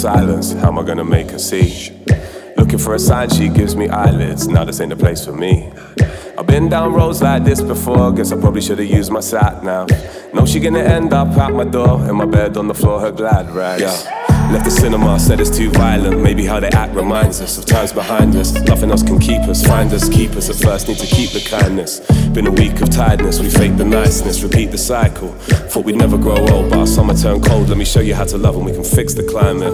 silence, how am I gonna make her see? Looking for a sign, she gives me eyelids. Now this ain't the place for me. I've been down roads like this before. Guess I probably should've used my sat nav. Know she gonna end up at my door, in my bed on the floor, her glad rags. Yeah. Left the cinema, said it's too violent. Maybe how they act reminds us of times behind us. Nothing else can keep us, find us, keep us. At first need to keep the kindness. Been a week of tiredness, we fake the niceness, repeat the cycle. Thought we'd never grow old, but our summer turned cold. Let me show you how to love and we can fix the climate.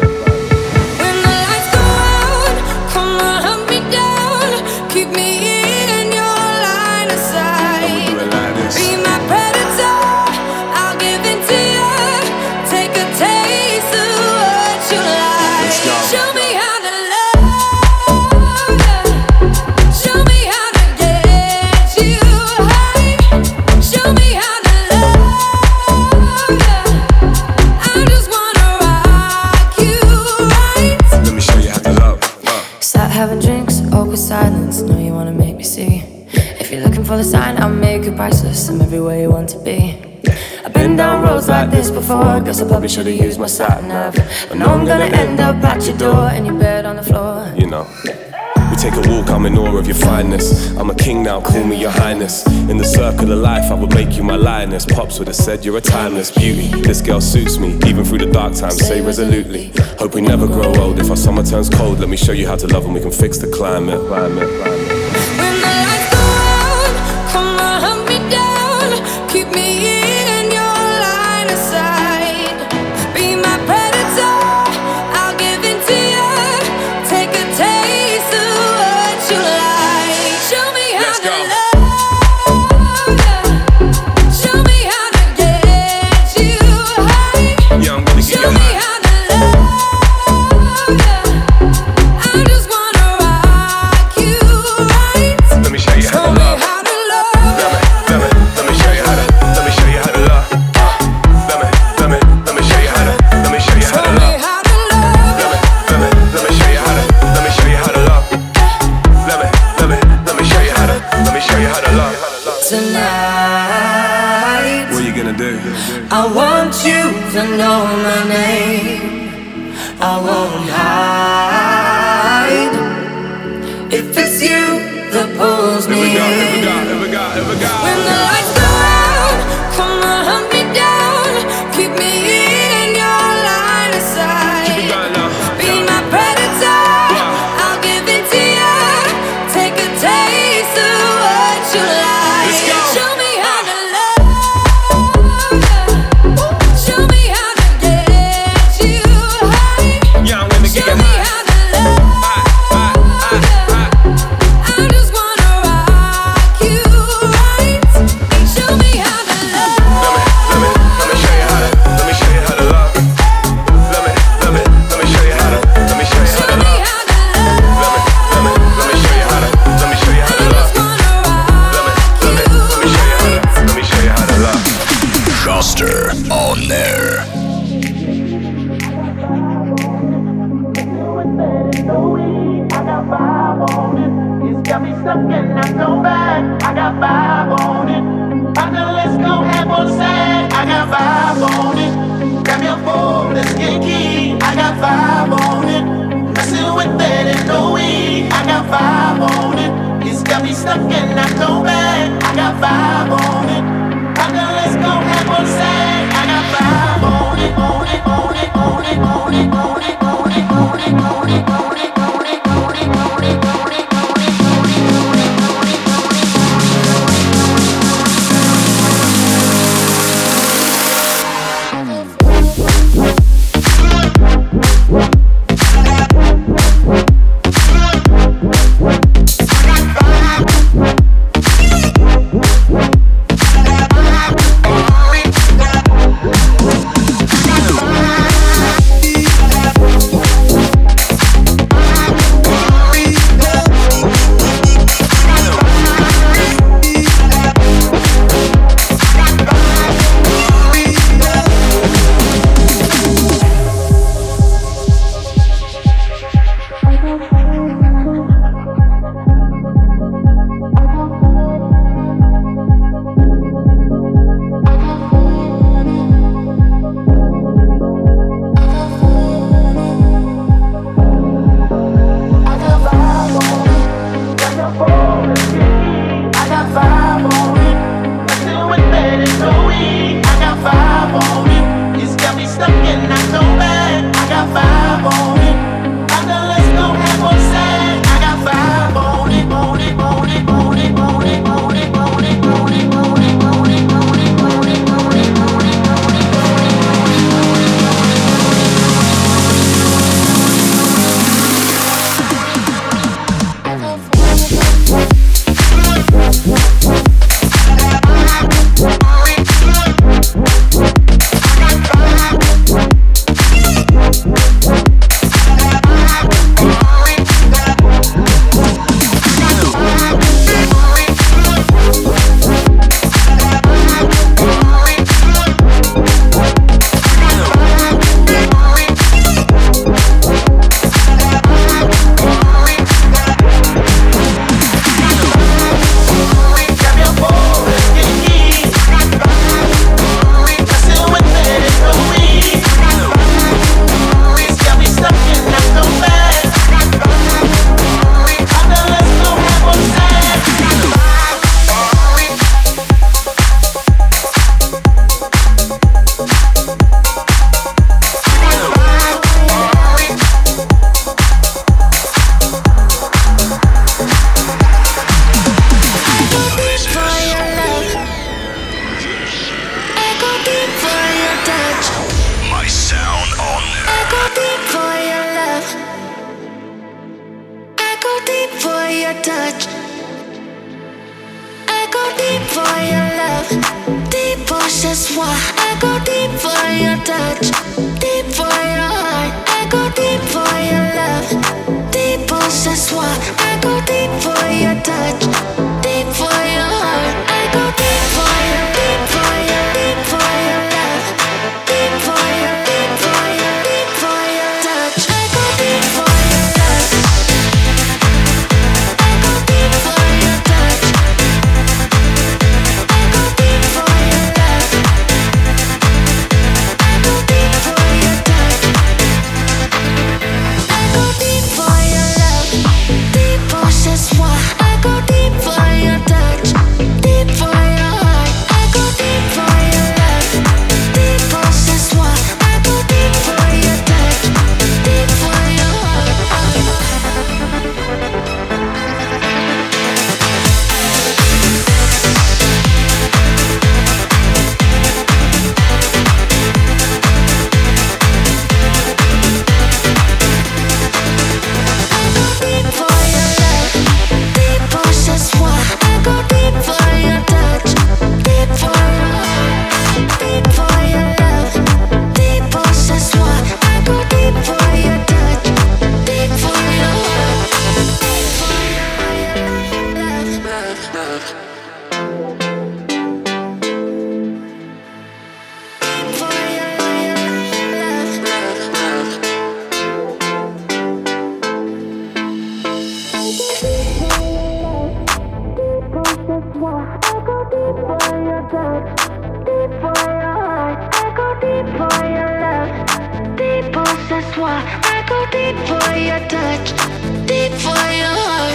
For the sign, I'll make it priceless. I'm everywhere you want to be. I've been down roads like this before. Guess I probably should've used my sat nav. But now I'm gonna end up at your door in your bed on the floor. You know, we take a walk, I'm in awe of your fineness. I'm a king now, call me your highness. In the circle of life, I would make you my lioness. Pops would've said you're a timeless beauty. This girl suits me, even through the dark times, say resolutely. Hope we never grow old. If our summer turns cold, let me show you how to love and we can fix the climate. I want you to know my name. I won't hide. If it's you that pulls me in. When the lights go out, come on, hunt me down. Keep me in your line of sight. Be my predator, I'll give it to you. Take a taste of what you like. Show me how to love. On there. I got vibe on it. It's got me stuck and I go back. I got vibe on it. Partner, let's go have one side. I got vibe on it. Grab your phone, let's get key. I got vibe on it. Messing with that and no weed. I got vibe on it. It's got me stuck and I go back. I got vibe on it. Partner, let's go have one side. I got vibe on it, on it, on it, on it, on it, on it, on it, on it, on it, on it. that's why I go deep for your touch, deep for your heart. I go deep for your love, deep pulse. That's why I go deep for your touch, deep for your heart. I go deep for your, deep for your, deep for your love, deep for your, deep for your, deep for your touch. I go deep for your love. I go deep for your touch. I go deep for your love. I go deep for your touch. I go deep for your love. Deep pulse, that's why I go deep for your touch. Deep for your heart. I go deep for your love. Deep pulse, that's why I go deep for your touch. Deep for your heart. Deep for your love, deep pulse, that's why I go deep for your touch, deep for your heart, deep for your love, deep pulse, that's why I go deep for your touch, deep for your heart, deep for your love, deep for your that's why I go deep for your touch, deep for your heart.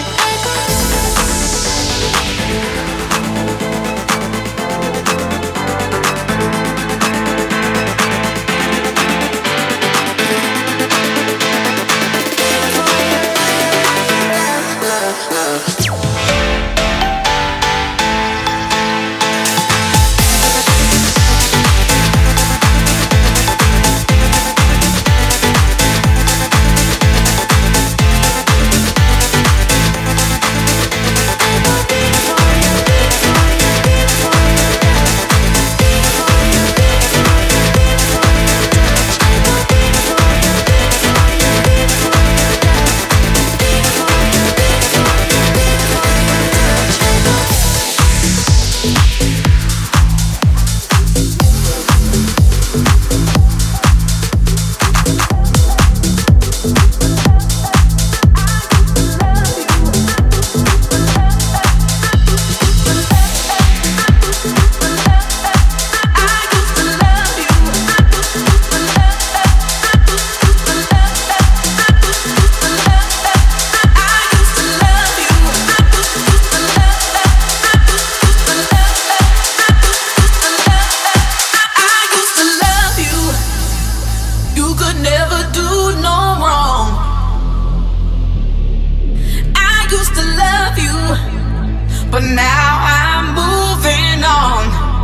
But now I'm moving on.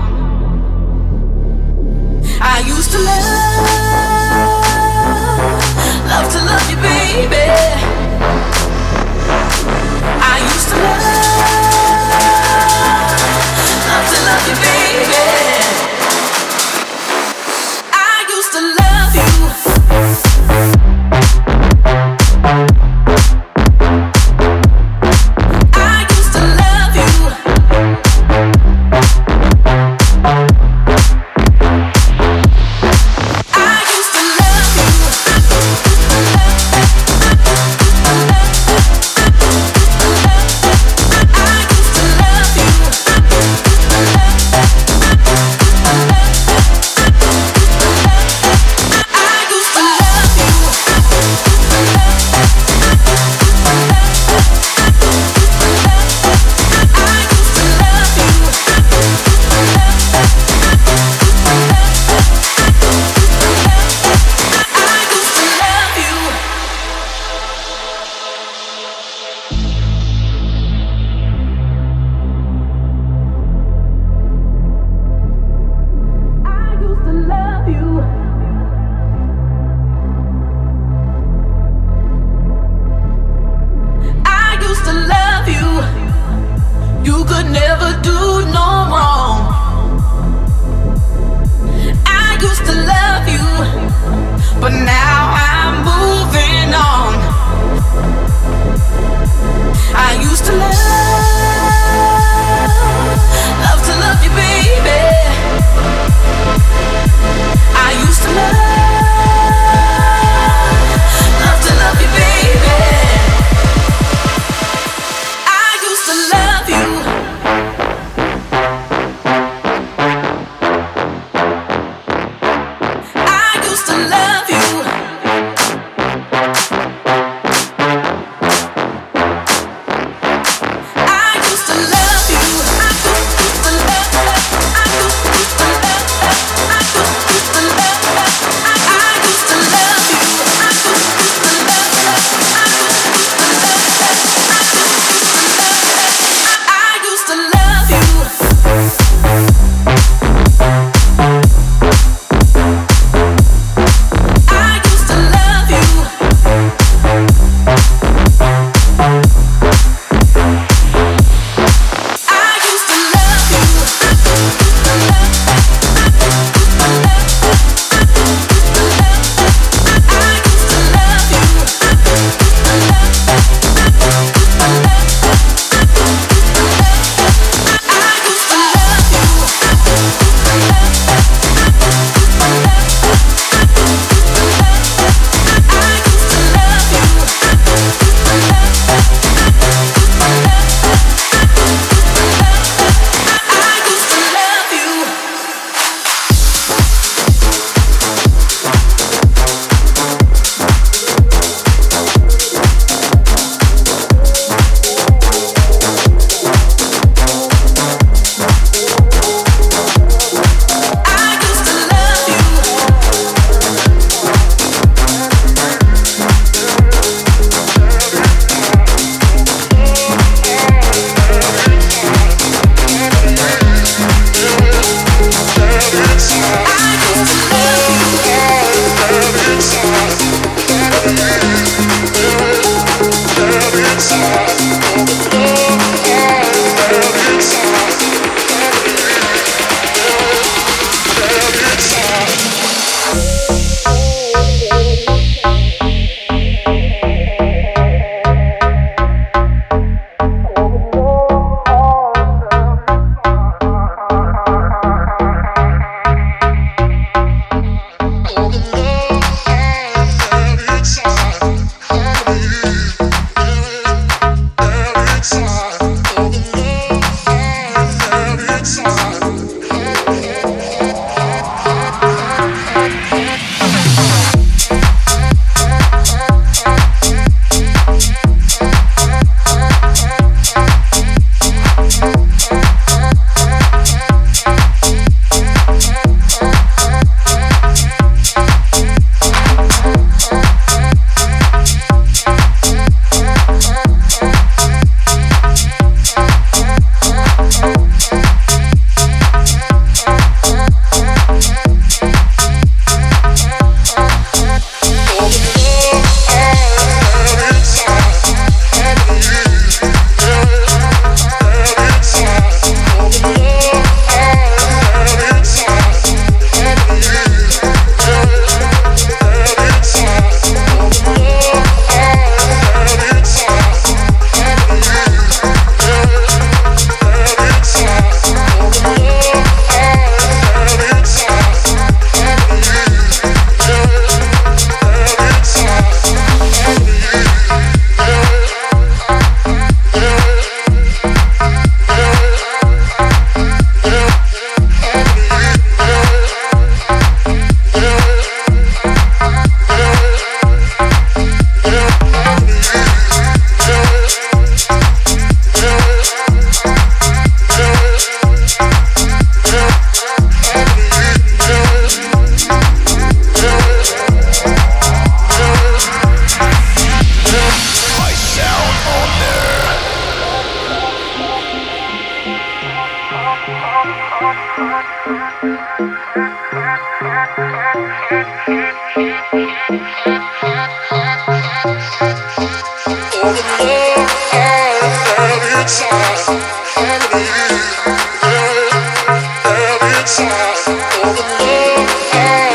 I used to love to love you, baby. I used to love to love you, baby. I used to love you. used to love you, but now I'm moving on. I used to love to love you, baby. I used to love to love you, baby. I used to love you. Inside, all the love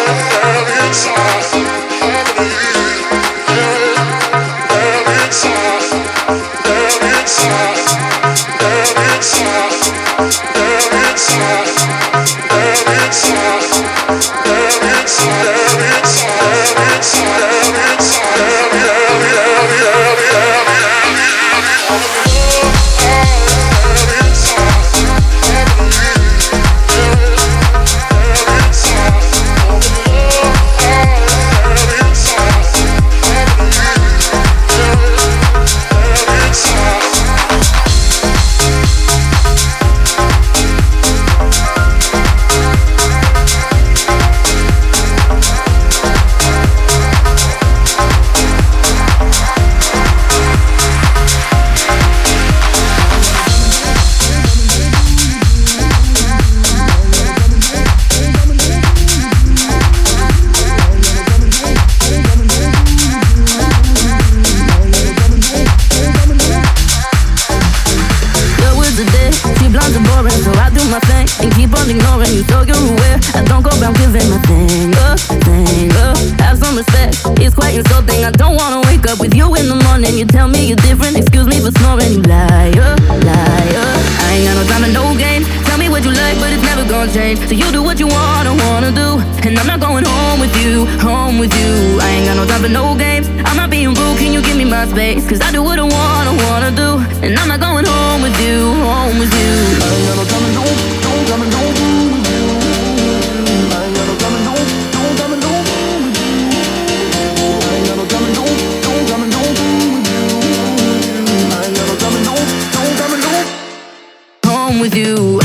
you blunt and boring, so I do my thing and keep on ignoring you, so you're aware I don't go around giving my thing up. Have some respect, it's quite insulting. I don't wanna wake up with you in the morning. You tell me you're different, excuse me for snoring. You liar. I ain't got no time for no games. Tell me what you like, but it's never gonna change. So you do what you wanna do, and I'm not going home with you. I ain't got no time for no games. I'm not being rude, can you give me my space? Cause I do what I wanna do, and I'm not going home with you. I ain't got no time for no, time for no with you. I ain't got no time for no, time for no with you. I ain't got no time for no, time for no with you. I ain't got no time for no, time for no home with you.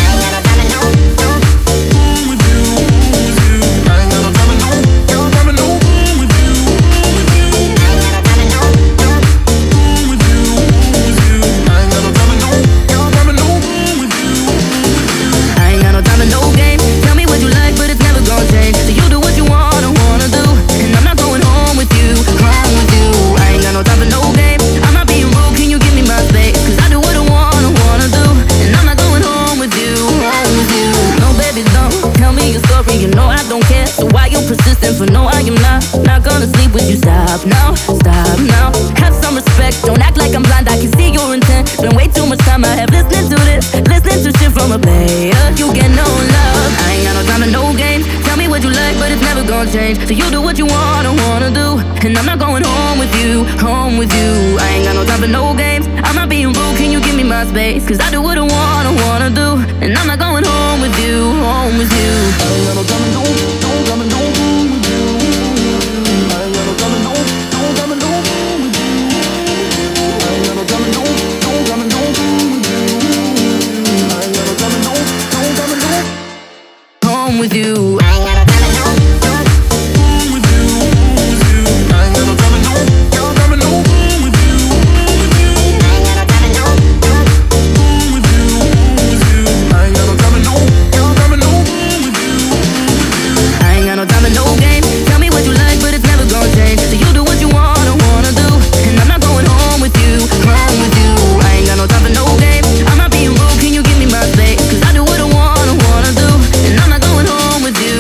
For no, I am not gonna sleep with you. Stop now. Have some respect, don't act like I'm blind. I can see your intent. Been way too much time I have listening to this, listening to shit from a player. You get no love. I ain't got no time for no games. Tell me what you like, but it's never gonna change. So you do what you wanna do, and I'm not going home with you. I ain't got no time for no games. I'm not being rude, can you give me my space? Cause I do what I wanna do, and I'm not going home with you. I ain't got no time for no, time for no. With you. With you.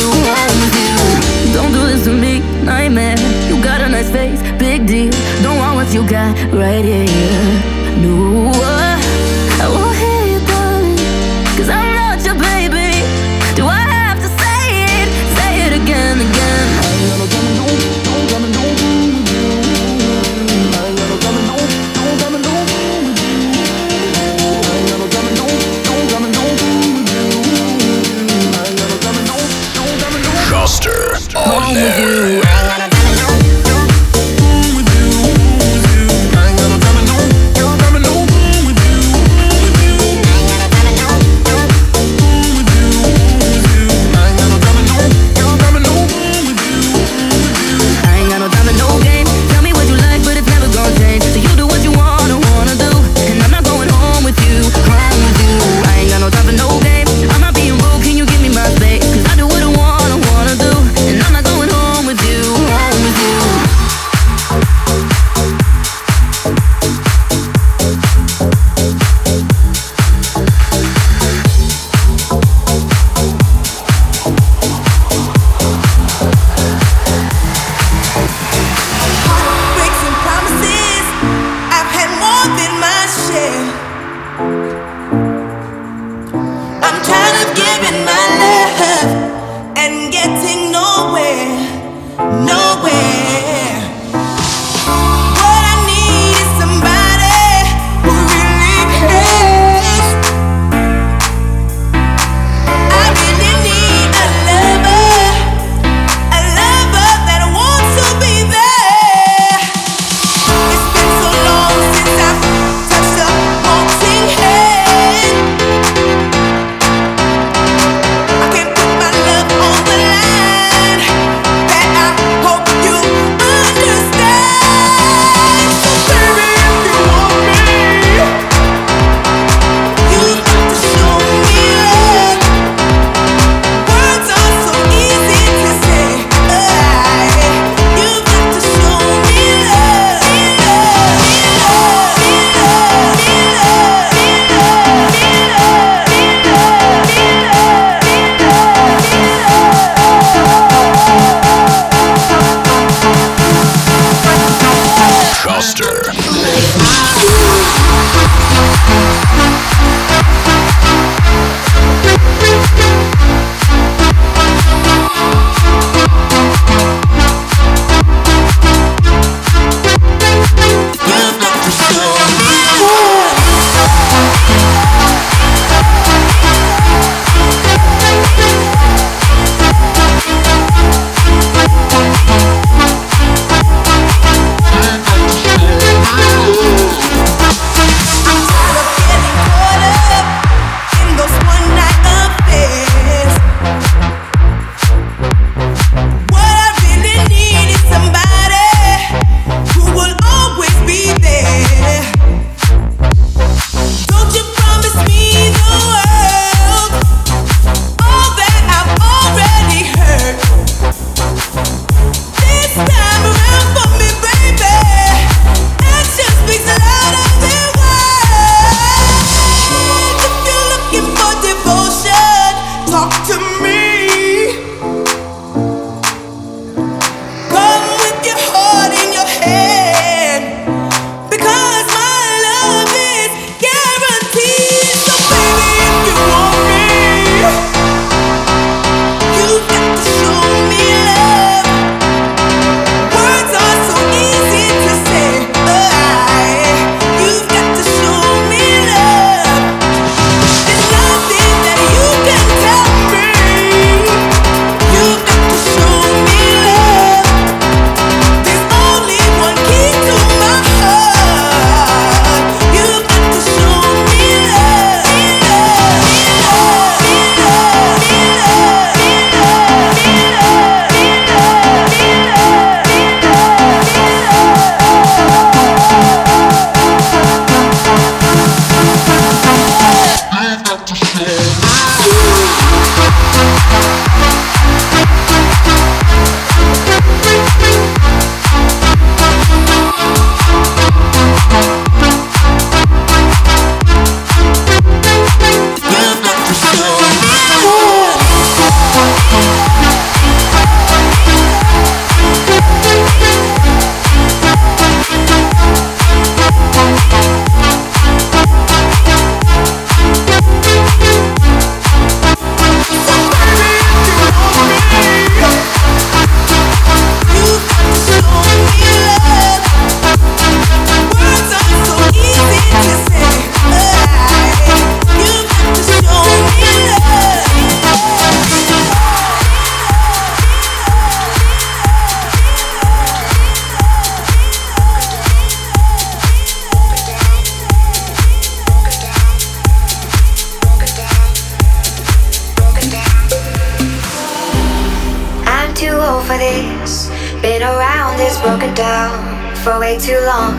old for this. Been around this, broken down for way too long.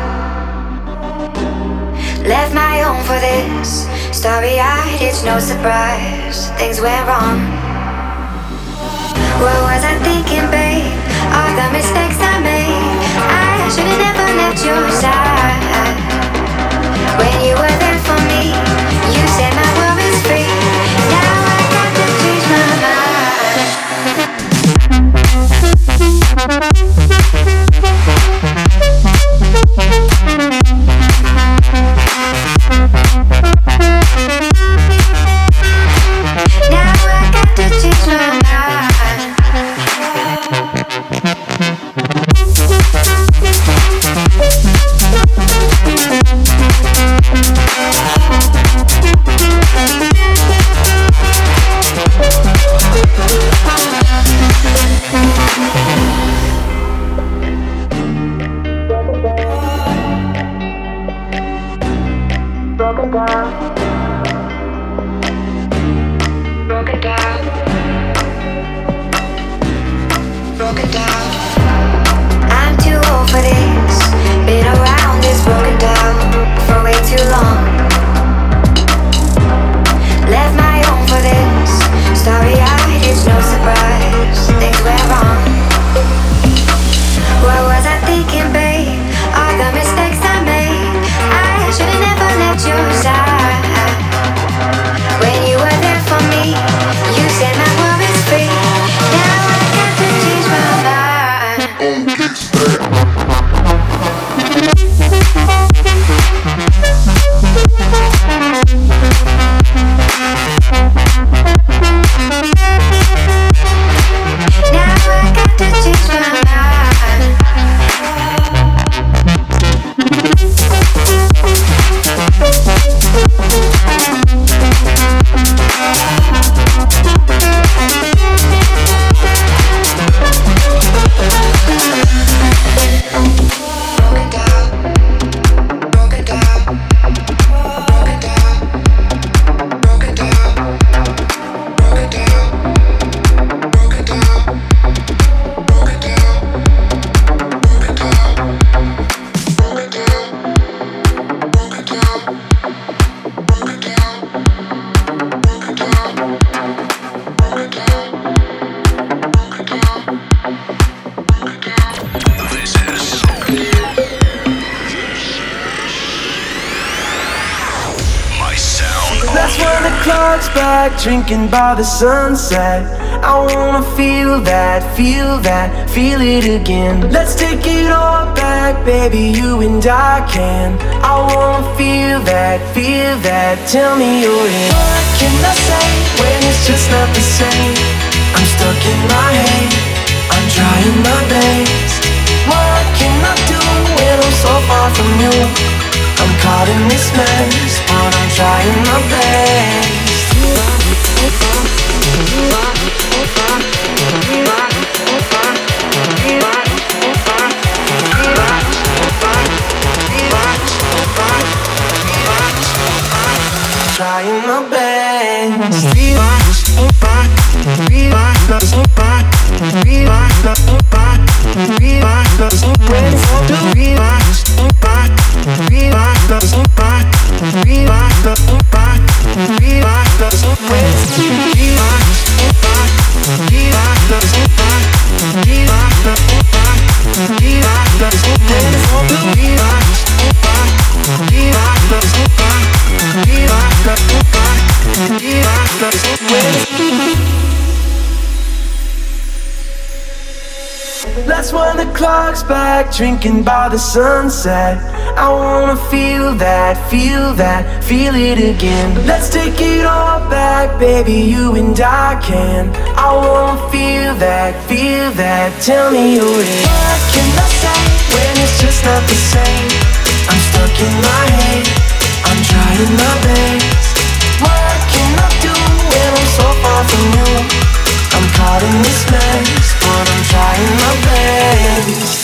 Left my home for this. Starry-eyed, it's no surprise things went wrong. What was I thinking, babe? All the mistakes I made. I should've never left your side. When you were there for me, you said my world is free. Now I got to change my mind. Now I got to change my mind. Drinking by the sunset, I wanna feel it again. Let's take it all back, baby, you and I can. I wanna feel that. Tell me you're in. What can I say when it's just not the same? I'm stuck in my head, I'm trying my best. What can I do when I'm so far from you? I'm caught in this mess, but I'm trying my best. Trying my best. That's when the clock's back, drinking by the sunset. I wanna feel it again. Let's take it all back, baby, you and I can. I wanna feel that. Tell me you're in. What can I say when it's just not the same? I'm stuck in my head, I'm trying my best. What can I do when I'm so far from you? I'm caught in this mess, but I'm trying my best.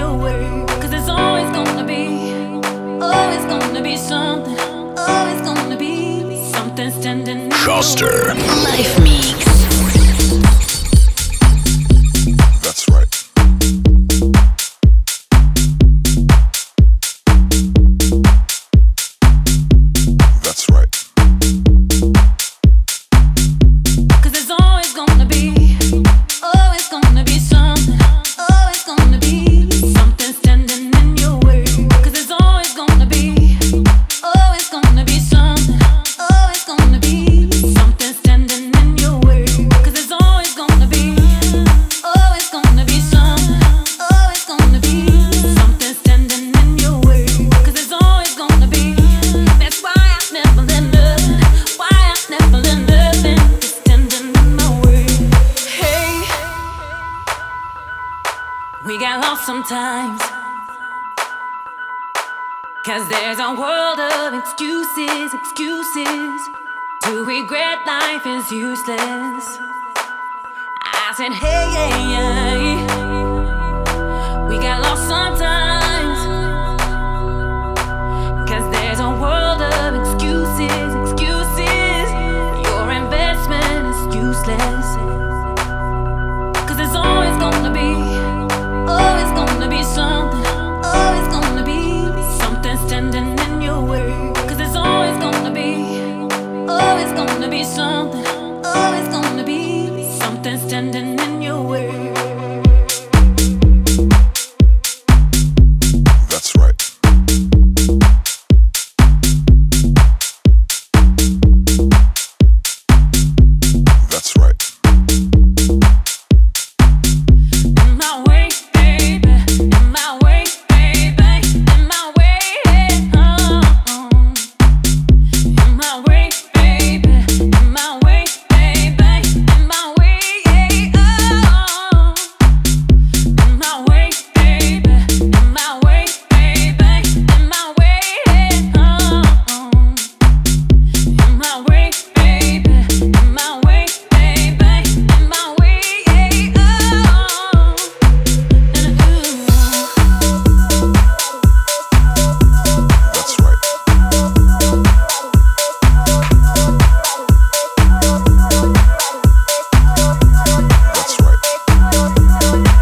your way. Cause there's always gonna be something, always gonna be something standing in Schuster. Life Mix. That's right. That's right. Cause there's always gonna be something, always gonna be something standing in your way. Cause there's always gonna be something, always gonna be something standing in your way. Cause there's always gonna be something, always gonna be something standing in your way. Cause there's always gonna be. That's why I never let nothing, just standing in my way. Hey, we got lost sometimes. Cause there's a world of excuses to regret life is useless. I said, hey, we got lost sometimes. Cause there's a world of excuses. Your investment is useless. Cause there's always gonna be something, always gonna be something standing in your way. Cause there's always gonna be something, always gonna be something standing in your way. That's right. That's right. In my way, baby, in my way, baby, in my way, in my way, baby, in my way, baby, in my way, in my way, baby, in my way, baby, in my way, in my way, baby, in my way, baby, in my way, That's right. That's right.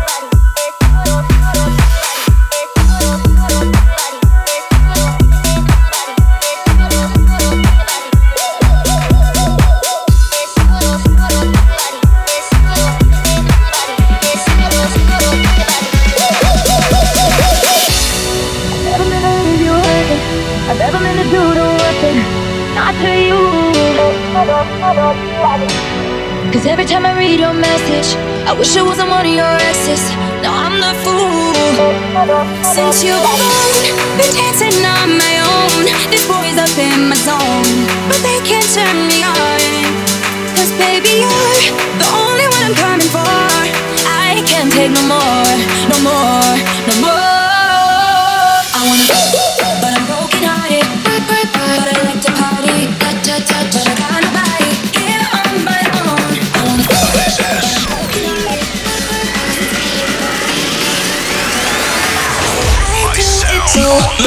Never meant to leave you hurting. I never meant to do the worst thing, not to you. Cause every time I read your message, I wish I wasn't one of your exes. Now I'm the fool. Since you've gone, been dancing on my own. This boy's up in my zone, but they can't turn me on. Cause baby, you're the only one I'm coming for. I can't take no more, no more, no more. I wanna, but I'm broken hearted. But I like to party. But I got nobody here on my own. I wanna, but I'm broken hearted. I do it so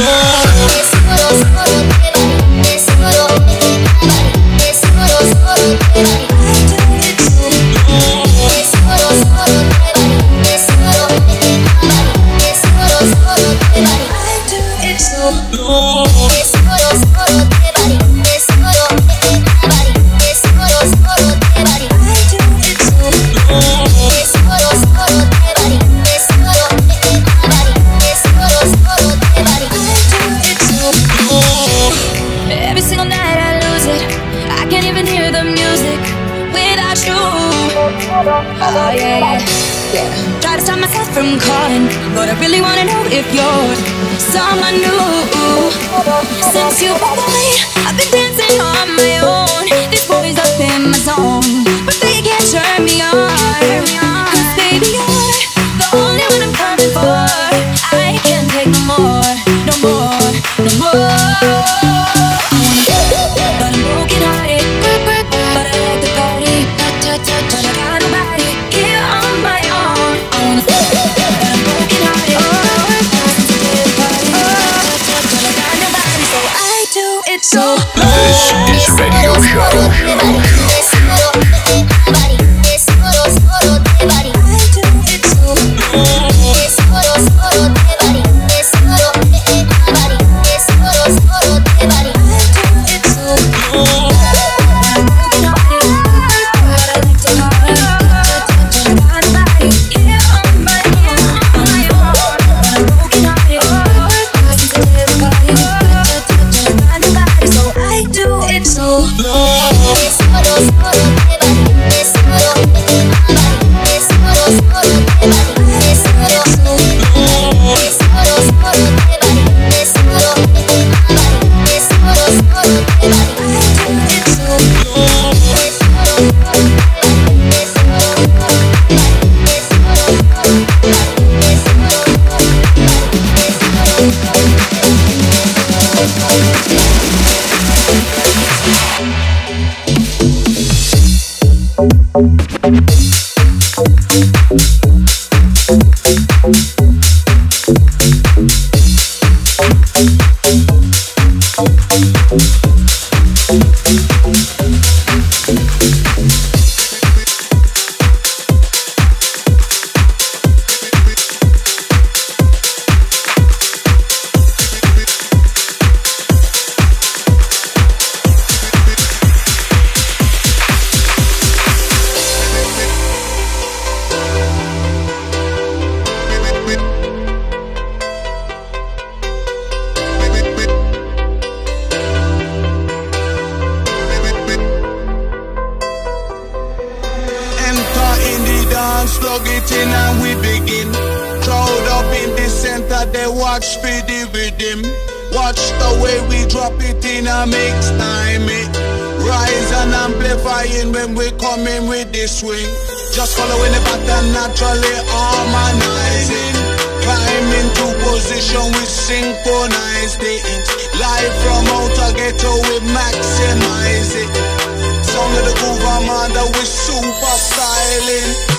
every single night I lose it. I can't even hear the music without you. Oh yeah. Try to stop myself from calling, but I really wanna know if you're someone new. Since you've been gone, I've been dancing on my own. This boy's up in my zone, but they can't turn me on. Cause baby, you're the only one I'm coming for. I can't take no more, no more, no more. But I'm broken hearted. But I like the party. But I got nobody here on my own. I wanna, but I'm broken hearted. plug it in and we begin. Crowd up in the center, they watch for the rhythm. Watch the way we drop it in a mix time. Rise and amplifying when we coming with the swing. Just following the pattern, naturally harmonizing. Climb into position, we synchronize the ends. Live from outer ghetto, we maximize it. Sound of the groove, I'm under, we super styling.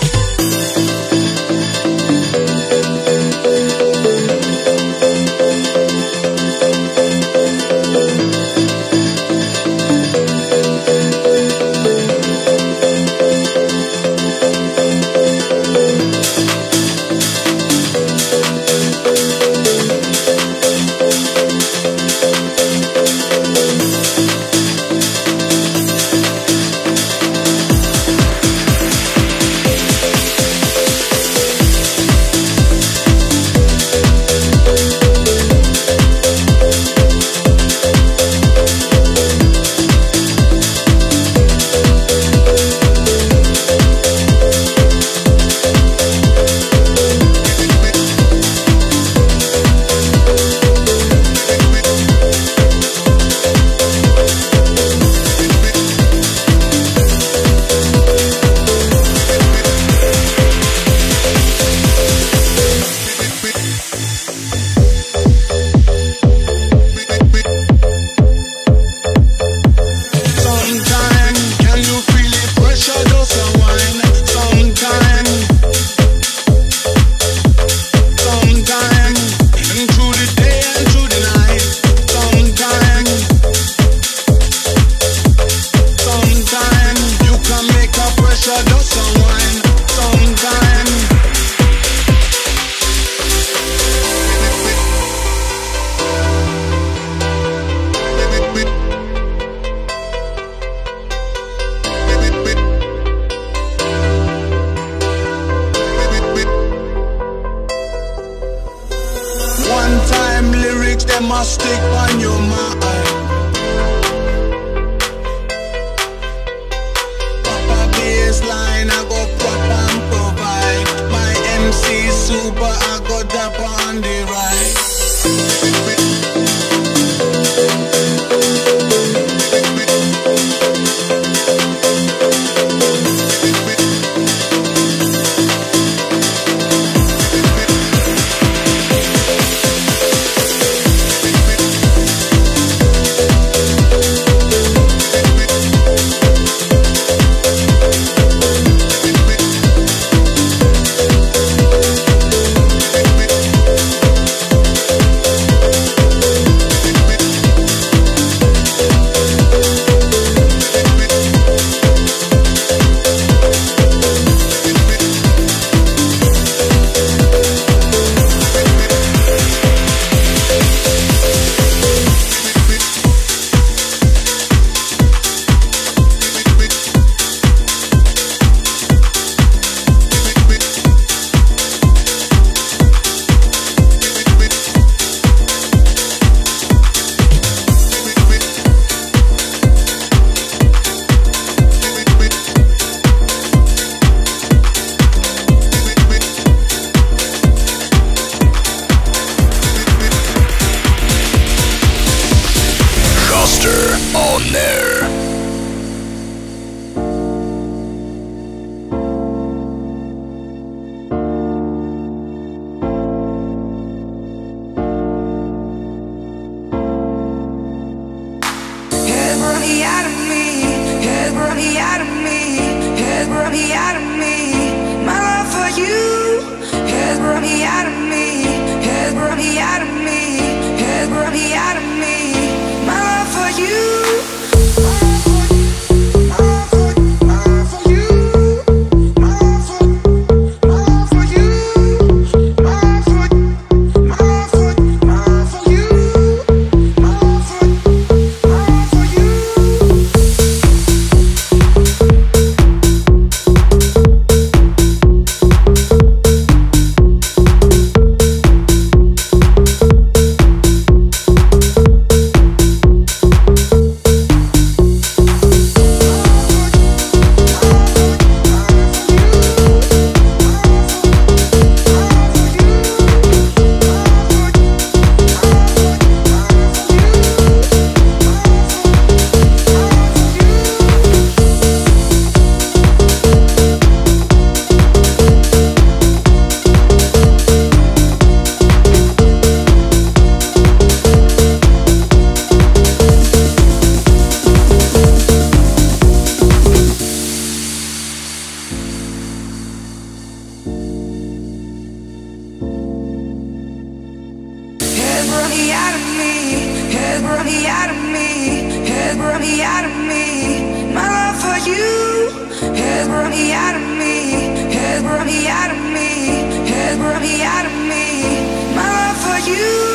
has brought me out of me, has brought me out of me, has brought me out of me. My love for you has brought me out of me, has brought me out of me, has brought me out of me. My love for you.